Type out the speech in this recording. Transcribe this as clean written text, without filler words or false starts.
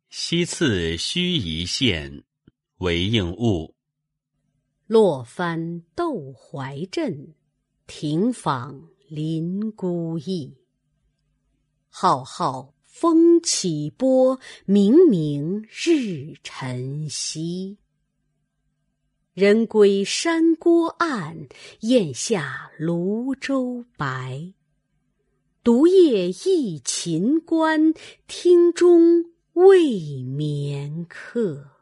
西次须臾县，韦应物。 落帆窦怀镇，停舫临孤驿。浩浩风起波，冥冥日沉西。人归山郭暗，雁下芦洲白。独夜忆秦关，厅中未眠客。